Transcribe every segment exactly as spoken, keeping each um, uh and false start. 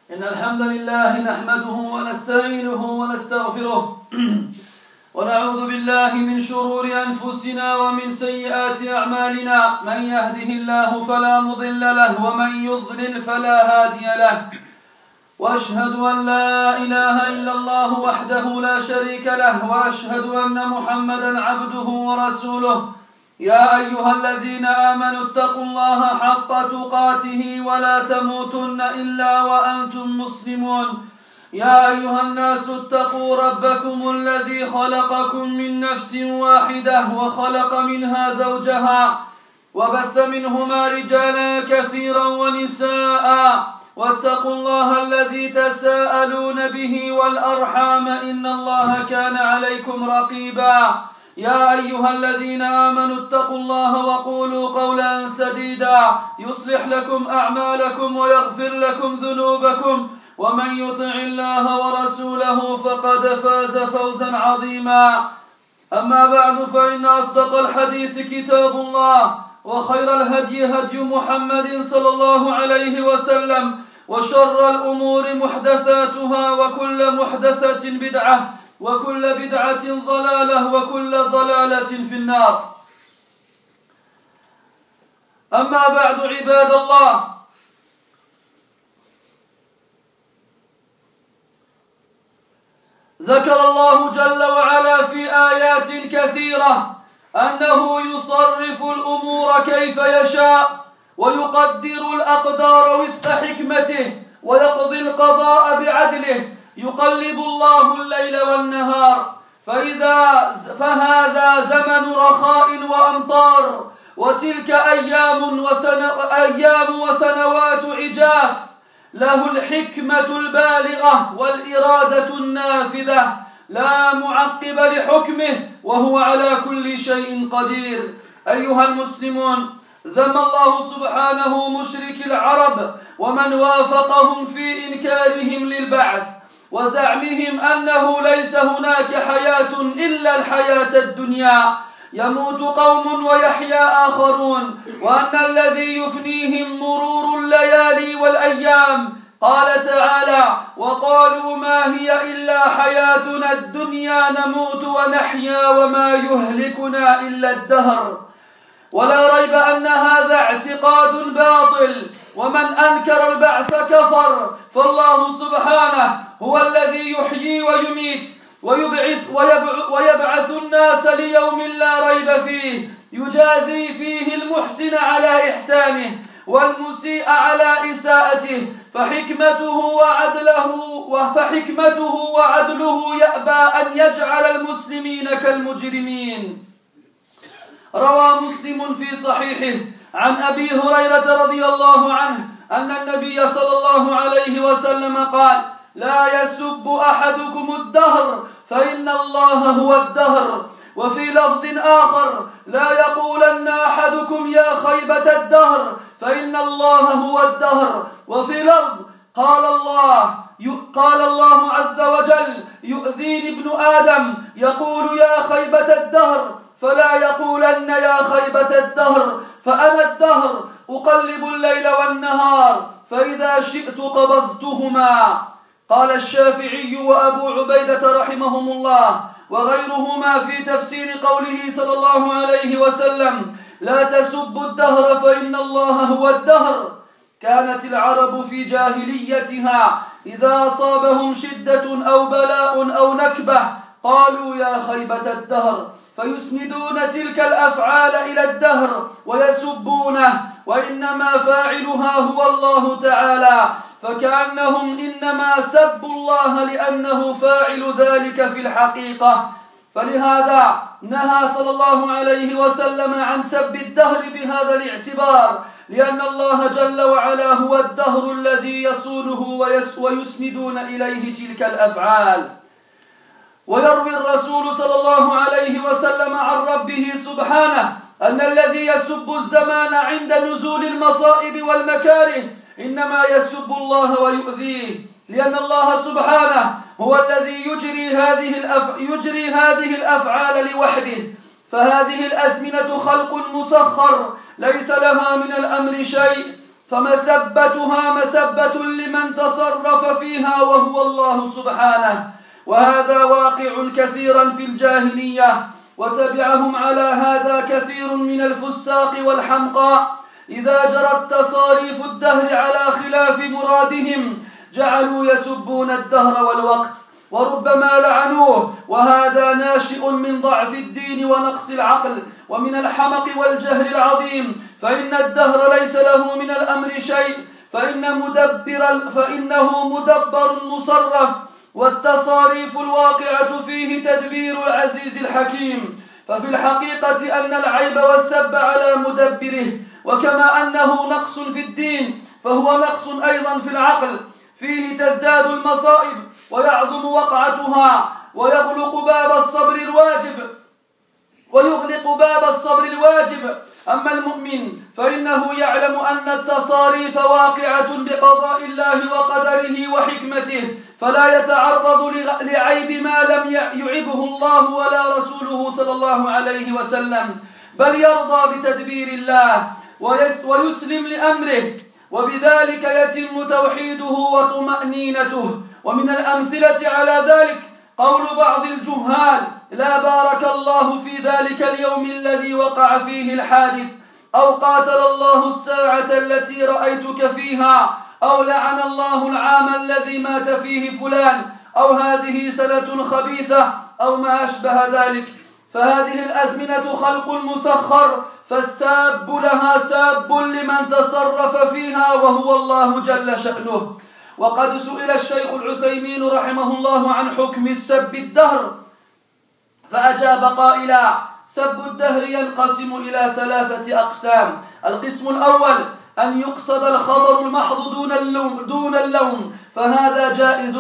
إن الحمد لله نحمده ونستعينه ونستغفره ونعوذ بالله من شرور أنفسنا ومن سيئات أعمالنا من يهده الله فلا مضل له ومن يضلل فلا هادي له وأشهد أن لا إله إلا الله وحده لا شريك له وأشهد أن محمدا عبده ورسوله يا أيها الذين آمنوا اتقوا الله حق تقاته ولا تموتن إلا وأنتم مسلمون يا أيها الناس اتقوا ربكم الذي خلقكم من نفس واحدة وخلق منها زوجها وبث منهما رجالا كثيرا ونساء واتقوا الله الذي تساءلون به والأرحام إن الله كان عليكم رقيبا يا أيها الذين آمنوا اتقوا الله وقولوا قولا سديدا يصلح لكم أعمالكم ويغفر لكم ذنوبكم ومن يطع الله ورسوله فقد فاز فوزا عظيما أما بعد فإن أصدق الحديث كتاب الله وخير الهدي هدي محمد صلى الله عليه وسلم وشر الأمور محدثاتها وكل محدثة بدعة وكل بدعة ضلالة وكل ضلالة في النار أما بعد عباد الله ذكر الله جل وعلا في آيات كثيرة أنه يصرف الأمور كيف يشاء ويقدر الأقدار وفق حكمته ويقضي القضاء بعدله يقلب الله الليل والنهار فإذا فهذا زمن رخاء وأمطار وتلك أيام وسن أيام وسنوات عجاف له الحكمة البالغة والإرادة النافذة لا معقب لحكمه وهو على كل شيء قدير أيها المسلمون ذم الله سبحانه مشرك العرب ومن وافقهم في إنكارهم للبعث وزعمهم أنه ليس هناك حياة إلا الحياة الدنيا يموت قوم ويحيا آخرون وأن الذي يفنيهم مرور الليالي والأيام قال تعالى وقالوا ما هي إلا حياتنا الدنيا نموت ونحيا وما يهلكنا إلا الدهر ولا ريب أن هذا اعتقاد باطل ومن أنكر البعث كفر فالله سبحانه هو الذي يحيي ويميت ويبعث, ويبعث الناس ليوم لا ريب فيه يجازي فيه المحسن على إحسانه والمسيء على إساءته فحكمته وعدله فحكمته وعدله يأبى أن يجعل المسلمين كالمجرمين روى مسلم في صحيحه عن أبي هريرة رضي الله عنه أن النبي صلى الله عليه وسلم قال لا يسب أحدكم الدهر فإن الله هو الدهر وفي لفظ آخر لا يقولن أحدكم يا خيبة الدهر فإن الله هو الدهر وفي لفظ قال الله قال الله عز وجل يؤذيني ابن آدم يقول يا خيبة الدهر فلا يقولن يا خيبة الدهر فأنا الدهر أقلب الليل والنهار فإذا شئت قبضتهما قال الشافعي وأبو عبيدة رحمهم الله وغيرهما في تفسير قوله صلى الله عليه وسلم لا تسبوا الدهر فإن الله هو الدهر كانت العرب في جاهليتها إذا أصابهم شدة أو بلاء أو نكبة قالوا يا خيبة الدهر فيسندون تلك الأفعال إلى الدهر ويسبونه وإنما فاعلها هو الله تعالى فكأنهم إنما سبوا الله لأنه فاعل ذلك في الحقيقة فلهذا نهى صلى الله عليه وسلم عن سب الدهر بهذا الاعتبار لأن الله جل وعلا هو الدهر الذي يصونه ويسندون إليه تلك الأفعال ويروي الرسول صلى الله عليه وسلم عن ربه سبحانه أن الذي يسب الزمان عند نزول المصائب والمكاره إنما يسب الله ويؤذيه لأن الله سبحانه هو الذي يجري هذه الأف... يجري هذه الأفعال لوحده فهذه الأزمنة خلق مسخر ليس لها من الأمر شيء فمسبتها مسبة لمن تصرف فيها وهو الله سبحانه، وهذا واقع كثيرا في الجاهلية، وتبعهم على هذا كثير من الفساق والحمقى. إذا جرت تصاريف الدهر على خلاف مرادهم جعلوا يسبون الدهر والوقت، وربما لعنوه، وهذا ناشئ من ضعف الدين ونقص العقل ومن الحمق والجهل العظيم، فإن الدهر ليس له من الأمر شيء، فإن مدبر فإنه مدبر مصرف، والتصاريف الواقعة فيه تدبير العزيز الحكيم. ففي الحقيقة أن العيب والسب على مدبره، وكما أنه نقص في الدين فهو نقص أيضا في العقل، فيه تزداد المصائب ويعظم وقعتها، ويغلق باب الصبر الواجب ويغلق باب الصبر الواجب. أما المؤمن فإنه يعلم أن التصاريف واقعة بقضاء الله وقدره وحكمته، فلا يتعرض لعيب ما لم يعبه الله ولا رسوله صلى الله عليه وسلم، بل يرضى بتدبير الله ويسلم لأمره، وبذلك يتم توحيده وطمأنينته. ومن الأمثلة على ذلك قول بعض الجهال: لا بارك الله في ذلك اليوم الذي وقع فيه الحادث، أو قاتل الله الساعة التي رأيتك فيها، أو لعن الله العام الذي مات فيه فلان، أو هذه سنة خبيثة، أو ما أشبه ذلك. فهذه الأزمنة خلق مسخر، فالساب لها ساب لمن تصرف فيها وهو الله جل شأنه. وقد سئل الشيخ العثيمين رحمه الله عن حكم السب الدهر، فأجاب قائلا: سب الدهر ينقسم إلى ثلاثة أقسام. القسم الأول أن يقصد الخبر المحض دون اللوم, دون اللوم فهذا جائز،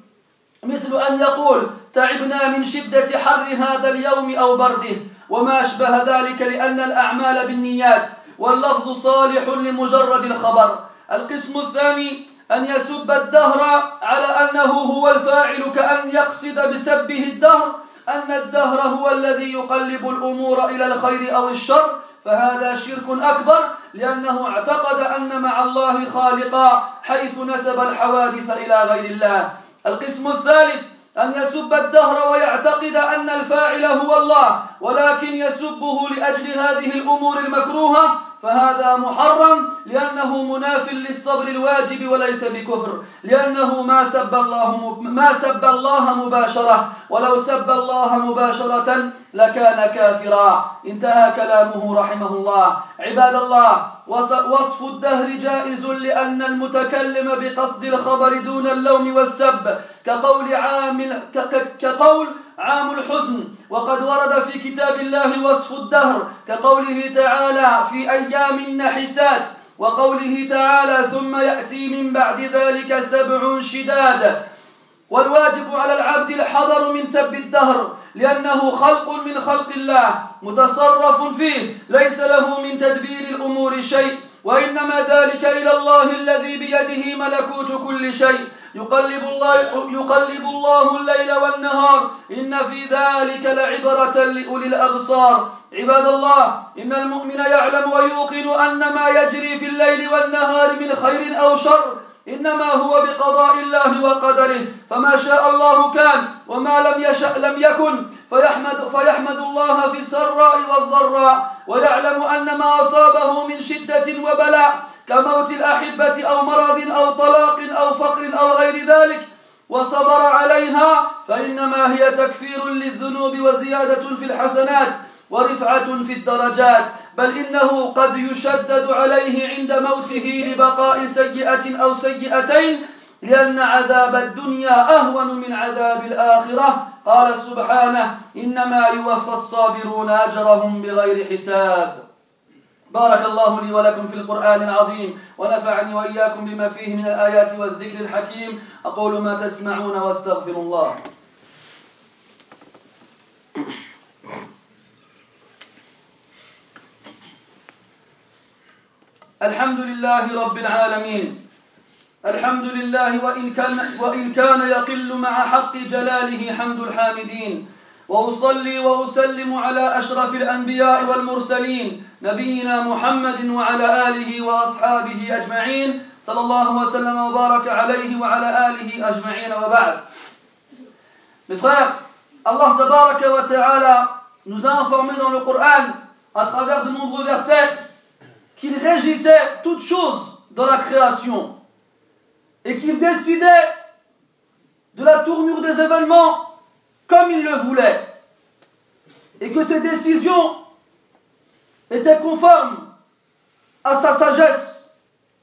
مثل أن يقول: تعبنا من شدة حر هذا اليوم أو برده، وما أشبه ذلك، لأن الأعمال بالنيات، واللفظ صالح لمجرد الخبر. القسم الثاني أن يسب الدهر على أنه هو الفاعل، كأن يقصد بسبه الدهر أن الدهر هو الذي يقلب الأمور إلى الخير أو الشر، فهذا شرك أكبر، لأنه اعتقد أن مع الله خالقا حيث نسب الحوادث إلى غير الله. القسم الثالث أن يسب الدهر ويعتقد أن الفاعل هو الله، ولكن يسبه لأجل هذه الأمور المكروهة، فهذا محرم، لأنه مناف للصبر الواجب وليس بكفر، لأنه ما سب الله ما سب الله مباشرة، ولو سب الله مباشرة لكان كافرا. انتهى كلامه رحمه الله. عباد الله، وصف الدهر جائز لأن المتكلم بقصد الخبر دون اللوم والسب، كقول عامل كقول عام الحزن، وقد ورد في كتاب الله وصف الدهر، كقوله تعالى: في أيام النحسات، وقوله تعالى: ثم يأتي من بعد ذلك سبع شداد. والواجب على العبد الحذر من سب الدهر، لأنه خلق من خلق الله متصرف فيه، ليس له من تدبير الأمور شيء، وإنما ذلك إلى الله الذي بيده ملكوت كل شيء. يقلب الله, يقلب الله الليل والنهار، إن في ذلك لعبرة لأولي الأبصار. عباد الله، إن المؤمن يعلم ويوقن أن ما يجري في الليل والنهار من خير أو شر إنما هو بقضاء الله وقدره، فما شاء الله كان، وما لم يشأ لم يكن، فيحمد, فيحمد الله في السراء والضراء، ويعلم أن ما أصابه من شدة وبلاء كموت الأحبة أو مرض أو طلاق أو فقر أو غير ذلك وصبر عليها، فإنما هي تكفير للذنوب وزيادة في الحسنات ورفعة في الدرجات، بل إنه قد يشدد عليه عند موته لبقاء سيئة أو سيئتين، لأن عذاب الدنيا أهون من عذاب الآخرة. قال سبحانه: إنما يوفى الصابرون أجرهم بغير حساب. بارك الله لي ولكم في القرآن العظيم، ونفعني وإياكم بما فيه من الآيات والذكر الحكيم. أقول ما تسمعون واستغفر الله. الحمد لله رب العالمين، الحمد لله وإن كان, وإن كان يقل مع حق جلاله حمد الحامدين، وأصلي وأسلم على أشرف الأنبياء والمرسلين نبينا محمد وعلى آله وأصحابه أجمعين صلى الله وسلم وبارك عليه وعلى آله أجمعين وبعد. Mes frères, Allah tabaraka wa ta'ala nous a informé dans le Coran, à travers de nombreux versets, qu'il régissait toutes choses dans la création et qu'il décidait de la tournure des événements comme il le voulait, et que ses décisions étaient conformes à sa sagesse.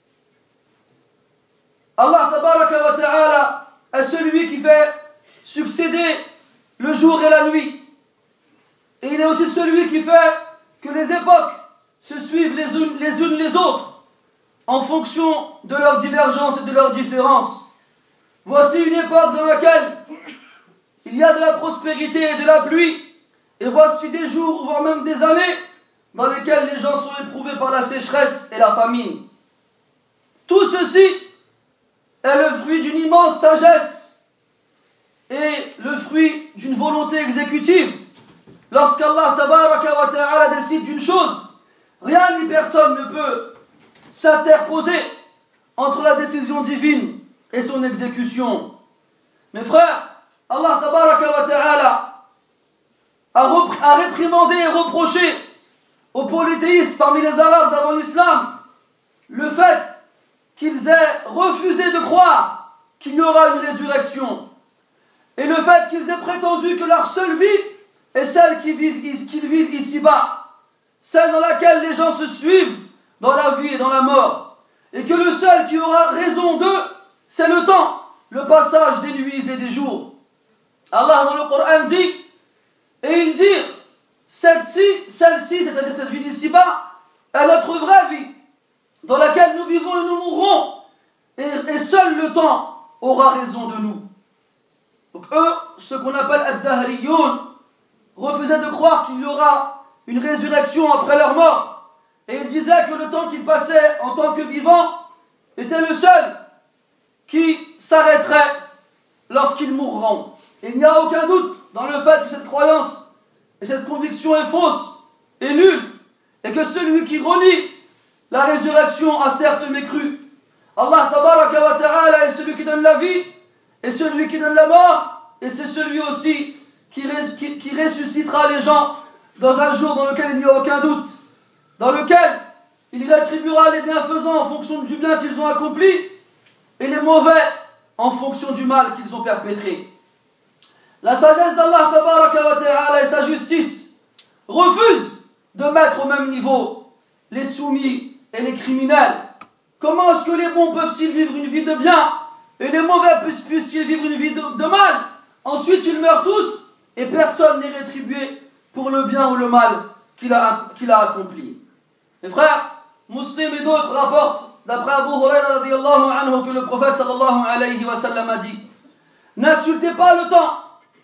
Allah tabaraka wa ta'ala est celui qui fait succéder le jour et la nuit, et il est aussi celui qui fait que les époques se suivent les unes les, unes les autres en fonction de leurs divergences et de leurs différences. Voici une époque dans laquelle il y a de la prospérité et de la pluie, et voici des jours, voire même des années, dans lesquels les gens sont éprouvés par la sécheresse et la famine. Tout ceci est le fruit d'une immense sagesse et le fruit d'une volonté exécutive. Lorsqu'Allah tabaraka wa ta'ala décide d'une chose, rien ni personne ne peut s'interposer entre la décision divine et son exécution. Mes frères, Allah tabaraka wa ta'ala a, a réprimandé et reproché aux polythéistes parmi les Arabes d'avant l'islam le fait qu'ils aient refusé de croire qu'il y aura une résurrection, et le fait qu'ils aient prétendu que leur seule vie est celle qu'ils vivent, qu'ils vivent ici-bas, celle dans laquelle les gens se suivent dans la vie et dans la mort, et que le seul qui aura raison d'eux, c'est le temps, le passage des nuits et des jours. Allah dans le Coran dit, et il dit, celle-ci, celle-ci, c'est-à-dire cette vie d'ici-bas, est notre vraie vie, dans laquelle nous vivons et nous mourrons, et, et seul le temps aura raison de nous. Donc eux, ce qu'on appelle ad-dahriyoun, refusaient de croire qu'il y aura une résurrection après leur mort, et ils disaient que le temps qu'ils passaient en tant que vivants était le seul qui s'arrêterait lorsqu'ils mourront. Et il n'y a aucun doute dans le fait que cette croyance et cette conviction est fausse et nulle, et que celui qui renie la résurrection a certes mécru. Allah tabaraka wa ta'ala est celui qui donne la vie et celui qui donne la mort, et c'est celui aussi qui, res, qui, qui ressuscitera les gens dans un jour dans lequel il n'y a aucun doute, dans lequel il rétribuera les bienfaisants en fonction du bien qu'ils ont accompli et les mauvais en fonction du mal qu'ils ont perpétré. La sagesse d'Allah tabaraka wa ta'ala et sa justice refusent de mettre au même niveau les soumis et les criminels. Comment est-ce que les bons peuvent-ils vivre une vie de bien et les mauvais puissent-ils vivre une vie de, de mal? Ensuite ils meurent tous et personne n'est rétribué pour le bien ou le mal qu'il a, qu'il a accompli. Mes frères, Muslim et d'autres rapportent d'après Abu Huraira radiyallahu anhu que le prophète sallallahu alayhi wa sallam a dit: n'insultez pas le temps,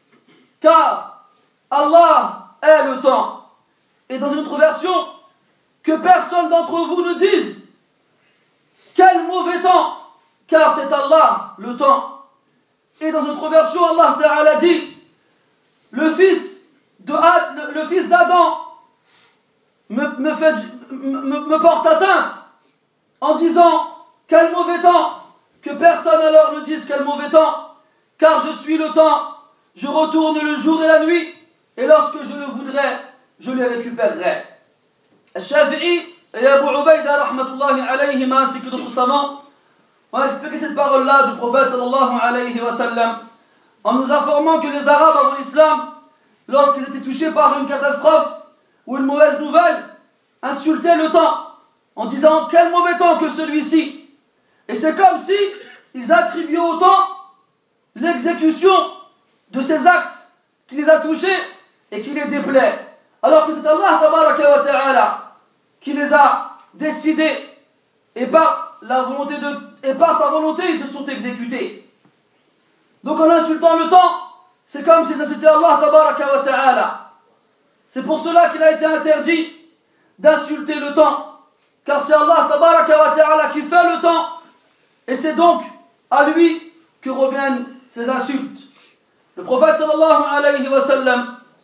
car Allah est le temps. Et dans une autre version, que personne d'entre vous ne dise quel mauvais temps, car c'est Allah le temps. Et dans une autre version, Allah Ta'ala dit: le fils de Ad, le, le fils d'Adam me, me, fait, me, me porte atteinte en disant quel mauvais temps, que personne alors ne dise quel mauvais temps, car je suis le temps, je retourne le jour et la nuit, et lorsque je le voudrais, je les récupérerai. Al-Shafi'i et Abu Ubaida rahmatullahi alayhi ainsi que d'autres savants ont expliqué cette parole-là du prophète sallallahu alayhi wa sallam en nous informant que les Arabes avant l'islam, lorsqu'ils étaient touchés par une catastrophe ou une mauvaise nouvelle, insultaient le temps en disant quel mauvais temps que celui-ci. Et c'est comme si ils attribuaient au temps l'exécution de ces actes qui les a touchés et qui les déplaît. Alors que c'est Allah tabaraka wa ta'ala qui les a décidés et par, la volonté de, et par sa volonté ils se sont exécutés. Donc en insultant le temps, c'est comme s'ils insultaient Allah tabaraka wa ta'ala. C'est pour cela qu'il a été interdit d'insulter le temps, car c'est Allah tabaraka wa ta'ala qui fait le temps, et c'est donc à lui que reviennent ces insultes. Le prophète sallallahu alayhi wa sallam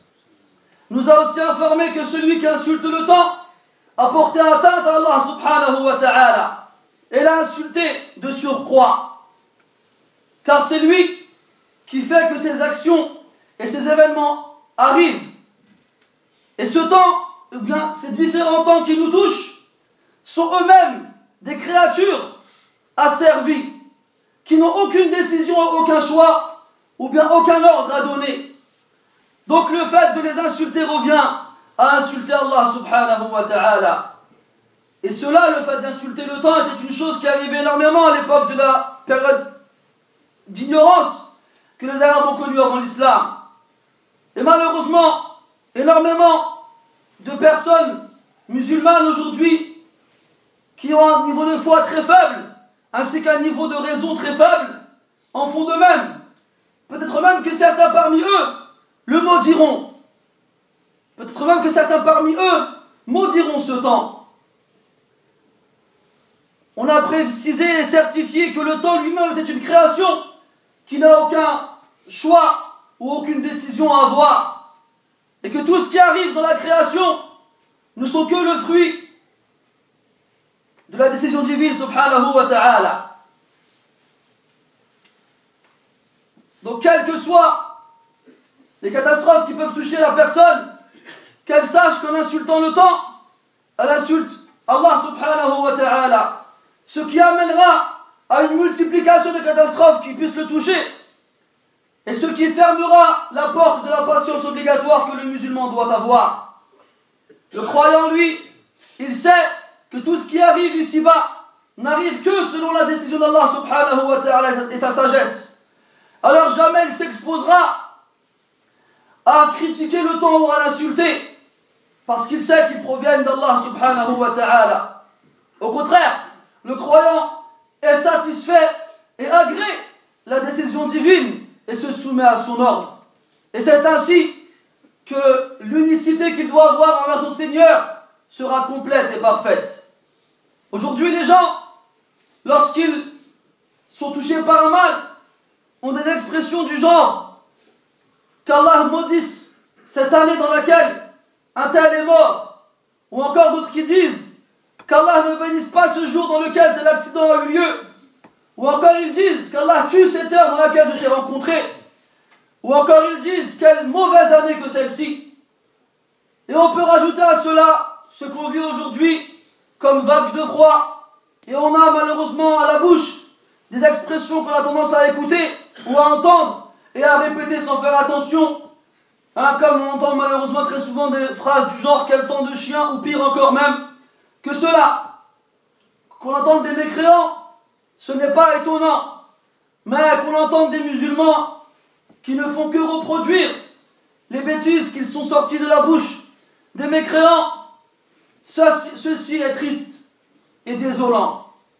nous a aussi informé que celui qui insulte le temps a porté atteinte à Allah subhanahu wa ta'ala et l'a insulté de surcroît. Car c'est lui qui fait que ces actions et ces événements arrivent. Et ce temps, eh bien, ces différents temps qui nous touchent sont eux-mêmes des créatures asservies, qui n'ont aucune décision, aucun choix, ou bien aucun ordre à donner. Donc le fait de les insulter revient à insulter Allah subhanahu wa ta'ala. Et cela, le fait d'insulter le temps, était une chose qui arrivait énormément à l'époque de la période d'ignorance que les Arabes ont connue avant l'islam. Et malheureusement, énormément de personnes musulmanes aujourd'hui qui ont un niveau de foi très faible, ainsi qu'un niveau de raison très faible, en font de même. Peut-être même que certains parmi eux le maudiront. Peut-être même que certains parmi eux maudiront ce temps. On a précisé et certifié que le temps lui-même était une création qui n'a aucun choix ou aucune décision à avoir. Et que tout ce qui arrive dans la création ne sont que le fruit de la décision divine subhanahu wa ta'ala. Donc quelles que soient les catastrophes qui peuvent toucher la personne, qu'elle sache qu'en insultant le temps, elle insulte Allah subhanahu wa ta'ala, ce qui amènera à une multiplication de catastrophes qui puissent le toucher, et ce qui fermera la porte de la patience obligatoire que le musulman doit avoir. Le croyant, lui, il sait que tout ce qui arrive ici-bas n'arrive que selon la décision d'Allah subhanahu wa ta'ala et sa sagesse. Alors jamais il s'exposera à critiquer le temps ou à l'insulter, parce qu'il sait qu'ils proviennent d'Allah subhanahu wa ta'ala. Au contraire, le croyant est satisfait et agrée la décision divine et se soumet à son ordre. Et c'est ainsi que l'unicité qu'il doit avoir envers son Seigneur sera complète et parfaite. Aujourd'hui, les gens, lorsqu'ils sont touchés par un mal, ont des expressions du genre qu'Allah maudisse cette année dans laquelle un tel est mort, ou encore d'autres qui disent qu'Allah ne bénisse pas ce jour dans lequel tel accident a eu lieu, ou encore ils disent qu'Allah tue cette heure dans laquelle je t'ai rencontré, ou encore ils disent quelle mauvaise année que celle-ci. Et on peut rajouter à cela ce qu'on vit aujourd'hui comme vague de froid, et on a malheureusement à la bouche des expressions qu'on a tendance à écouter ou à entendre et à répéter sans faire attention, hein, comme on entend malheureusement très souvent des phrases du genre quel temps de chien, ou pire encore même que cela. Qu'on entende des mécréants, ce n'est pas étonnant, mais qu'on entende des musulmans qui ne font que reproduire les bêtises qu'ils sont sortis de la bouche des mécréants, ceci est triste et désolant.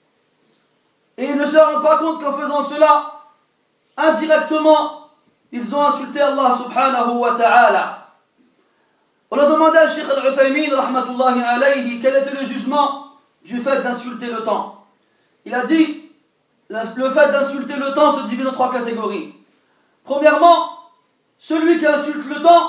Et ils ne se rendent pas compte qu'en faisant cela, indirectement, ils ont insulté Allah subhanahu wa ta'ala. On a demandé à Cheikh Al-Uthaymin rahmatullahi alayhi quel était le jugement du fait d'insulter le temps. Il a dit, le fait d'insulter le temps se divise en trois catégories. Premièrement, celui qui insulte le temps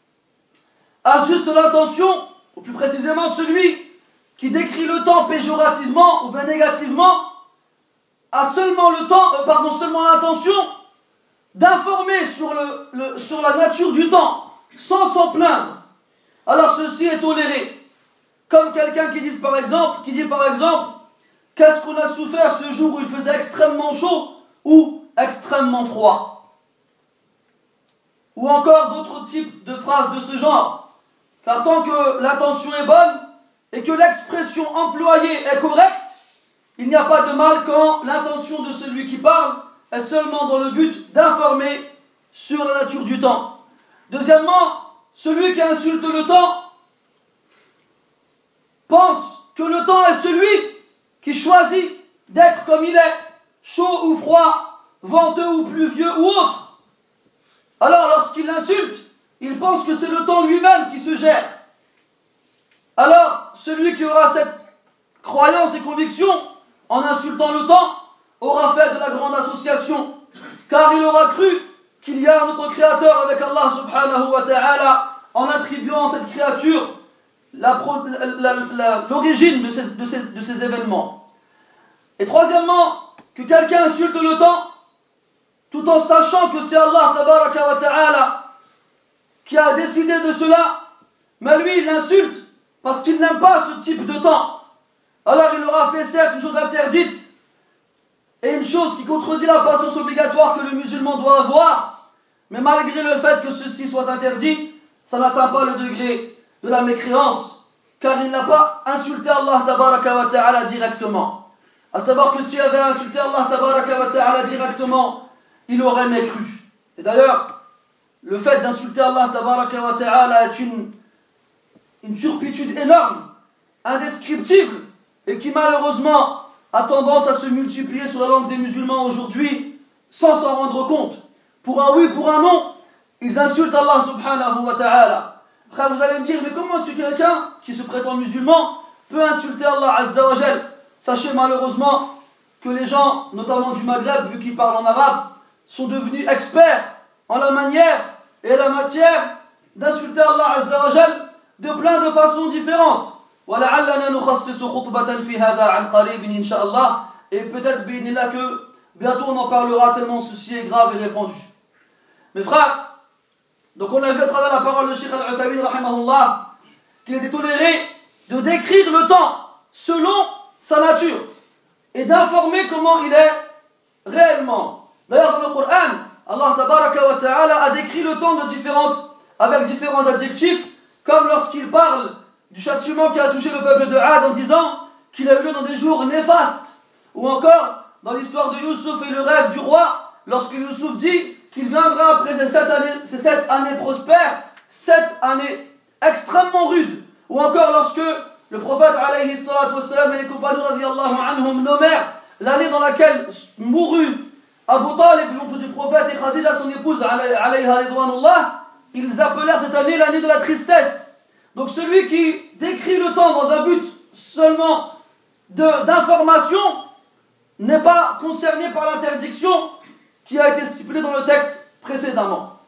a juste l'intention, ou plus précisément celui qui décrit le temps péjorativement ou bien négativement, a seulement le temps, euh, pardon, seulement l'intention d'informer sur, le, le, sur la nature du temps, sans s'en plaindre. Alors ceci est toléré. Comme quelqu'un qui dit par exemple, qui dit par exemple, qu'est-ce qu'on a souffert ce jour où il faisait extrêmement chaud ou extrêmement froid. Ou encore d'autres types de phrases de ce genre. Car tant que l'intention est bonne et que l'expression employée est correcte, il n'y a pas de mal quand l'intention de celui qui parle est seulement dans le but d'informer sur la nature du temps. Deuxièmement, celui qui insulte le temps pense que le temps est celui qui choisit d'être comme il est, chaud ou froid, venteux ou pluvieux ou autre. Alors lorsqu'il l'insulte, il pense que c'est le temps lui-même qui se gère. Alors, celui qui aura cette croyance et conviction, en insultant le temps, aura fait de la grande association, car il aura cru qu'il y a un autre créateur avec Allah subhanahu wa ta'ala, en attribuant à cette créature l'origine de ces, de, ces, de ces événements. Et troisièmement, que quelqu'un insulte le temps, tout en sachant que c'est Allah tabaraka wa ta'ala qui a décidé de cela, mais lui il l'insulte parce qu'il n'aime pas ce type de temps. Alors il aura fait certes une chose interdite et une chose qui contredit la patience obligatoire que le musulman doit avoir, mais malgré le fait que ceci soit interdit, ça n'atteint pas le degré de la mécréance, car il n'a pas insulté Allah tabaraka wa ta'ala directement. À savoir que s'il avait insulté Allah tabaraka wa ta'ala directement, il aurait mécru. Et d'ailleurs, le fait d'insulter Allah tabaraka wa ta'ala est une, une turpitude énorme, indescriptible, et qui malheureusement a tendance à se multiplier sur la langue des musulmans aujourd'hui, sans s'en rendre compte. Pour un oui, pour un non, ils insultent Allah subhanahu wa ta'ala. Après vous allez me dire, mais comment est-ce que quelqu'un qui se prétend musulman peut insulter Allah azza wa jal? Sachez malheureusement que les gens, notamment du Maghreb, vu qu'ils parlent en arabe, sont devenus experts en la manière et la matière d'insulter Allah azza wa jal de plein de façons différentes. وَلَعَلَّنَا نُخَصِّصُ خُطْبَةً فِي هَذَا عَنْ قَرِيبٍ إِنْ شَاءَ اللَّهِ. Et peut-être là que bientôt on en parlera tellement ceci est grave et répandu. Mes frères, donc on a vu à travers la parole de Cheikh Al-Uthaymin rahimahullah qu'il était toléré de décrire le temps selon sa nature et d'informer comment il est réellement. D'ailleurs dans le Coran, Allah tabaraka wa ta'ala a décrit le temps de différentes, avec différents adjectifs, comme lorsqu'il parle du châtiment qui a touché le peuple de Ad en disant qu'il a eu lieu dans des jours néfastes, ou encore dans l'histoire de Youssouf et le rêve du roi, lorsque Youssouf dit qu'il viendra après ces sept années, ces sept années prospères, sept années extrêmement rudes, ou encore lorsque le prophète alayhi salatu wassalam et les compagnons radiyallahu anhum nommèrent l'année dans laquelle mourut Abu Talib, l'oncle du prophète, et Khadija, son épouse, alayha ridwanullah, ils appelèrent cette année l'année de la tristesse. Donc celui qui décrit le temps dans un but seulement d'information n'est pas concerné par l'interdiction qui a été stipulée dans le texte précédemment.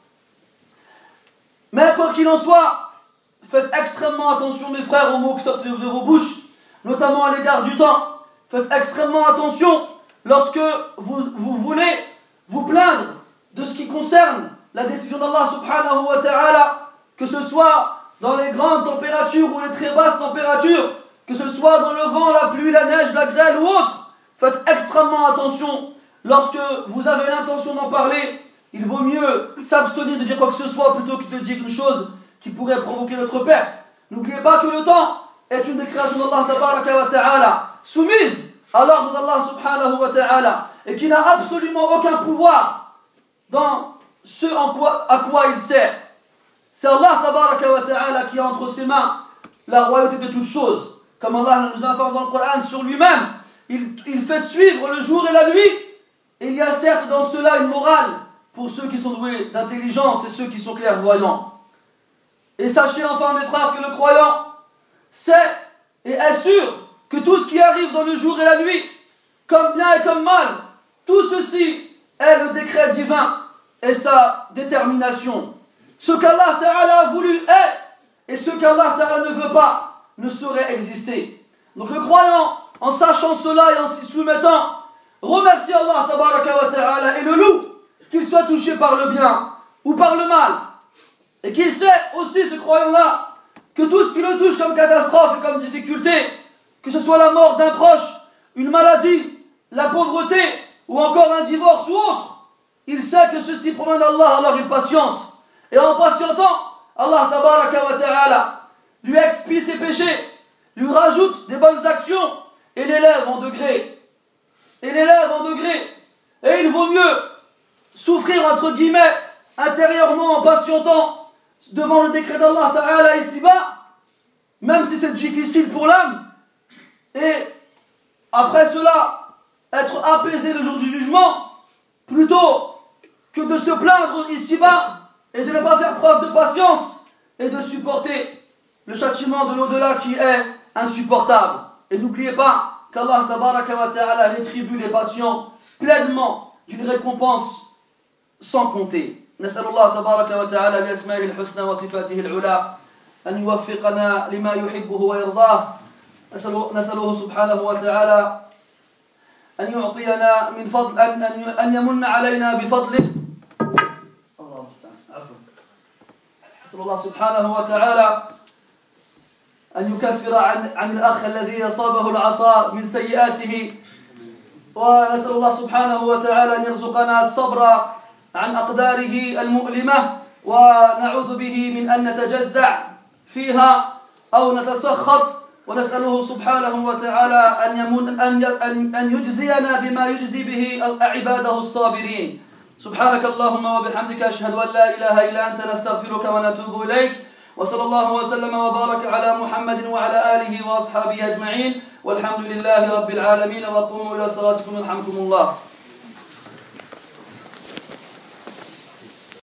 Mais quoi qu'il en soit, faites extrêmement attention mes frères aux mots qui sortent de vos bouches, notamment à l'égard du temps. Faites extrêmement attention lorsque vous, vous voulez vous plaindre de ce qui concerne la décision d'Allah subhanahu wa ta'ala, que ce soit dans les grandes températures ou les très basses températures, que ce soit dans le vent, la pluie, la neige, la grêle ou autre. Faites extrêmement attention. Lorsque vous avez l'intention d'en parler, il vaut mieux s'abstenir de dire quoi que ce soit plutôt que de dire une chose qui pourrait provoquer notre perte. N'oubliez pas que le temps est une des créations d'Allah tabaraka wa ta'ala, soumise à l'ordre d'Allah subhanahu wa ta'ala, et qui n'a absolument aucun pouvoir dans ce en quoi, à quoi il sert. C'est Allah tabaraka wa ta'ala qui a entre ses mains la royauté de toutes choses. Comme Allah nous informe dans le Coran sur lui-même, il, il fait suivre le jour et la nuit. Et il y a certes dans cela une morale pour ceux qui sont doués d'intelligence et ceux qui sont clairvoyants. Et sachez enfin mes frères que le croyant sait et est sûr que tout ce qui arrive dans le jour et la nuit, comme bien et comme mal, tout ceci est le décret divin et sa détermination. Ce qu'Allah Ta'ala a voulu est, et ce qu'Allah Ta'ala ne veut pas ne saurait exister. Donc le croyant, en sachant cela et en s'y soumettant, remercie Allah Tabaraka wa Ta'ala et le loue, qu'il soit touché par le bien ou par le mal. Et qu'il sait aussi, ce croyant-là, que tout ce qui le touche comme catastrophe et comme difficulté, que ce soit la mort d'un proche, une maladie, la pauvreté, ou encore un divorce ou autre, il sait que ceci provient d'Allah, alors il patiente. Et en patientant, Allah Tabaraka wa Ta'ala lui expie ses péchés, lui rajoute des bonnes actions et l'élève en degrés. Et l'élève en degrés. Et il vaut mieux souffrir entre guillemets intérieurement en patientant devant le décret d'Allah Ta'ala ici-bas, même si c'est difficile pour l'âme, et après cela être apaisé le jour du jugement, plutôt que de se plaindre ici-bas et de ne pas faire preuve de patience et de supporter le châtiment de l'au-delà qui est insupportable. Et n'oubliez pas qu'Allah Tabaraka wa Ta'ala rétribue les patients pleinement d'une récompense sans compter. نسأل الله تبارك وتعالى بأسمائه الحسنى وصفاته العلى أن يوفقنا لما يحبه ويرضاه. نسأله سبحانه وتعالى أن يعطينا من فضل أن أن يمن علينا بفضله. الله المستعان. عفوا. نسأل الله سبحانه وتعالى أن يكفر عن عن الأخ الذي أصابه العصا من سيئاته، ونسأل الله سبحانه وتعالى أن يرزقنا الصبر عن أقداره المؤلمة، ونعوذ به من أن نتجزع فيها أو نتسخط، ونسأله سبحانه وتعالى أن يمن أن أن يجزينا بما يجزي به عباده الصابرين. سبحانك اللهم وبحمدك أشهد أن لا إله إلا أنت نستغفرك ونتوب إليك، وصلى الله وسلم وبارك على محمد وعلى آله وأصحابه أجمعين، والحمد لله رب العالمين، وقوموا إلى صلاتكم يرحمكم الله.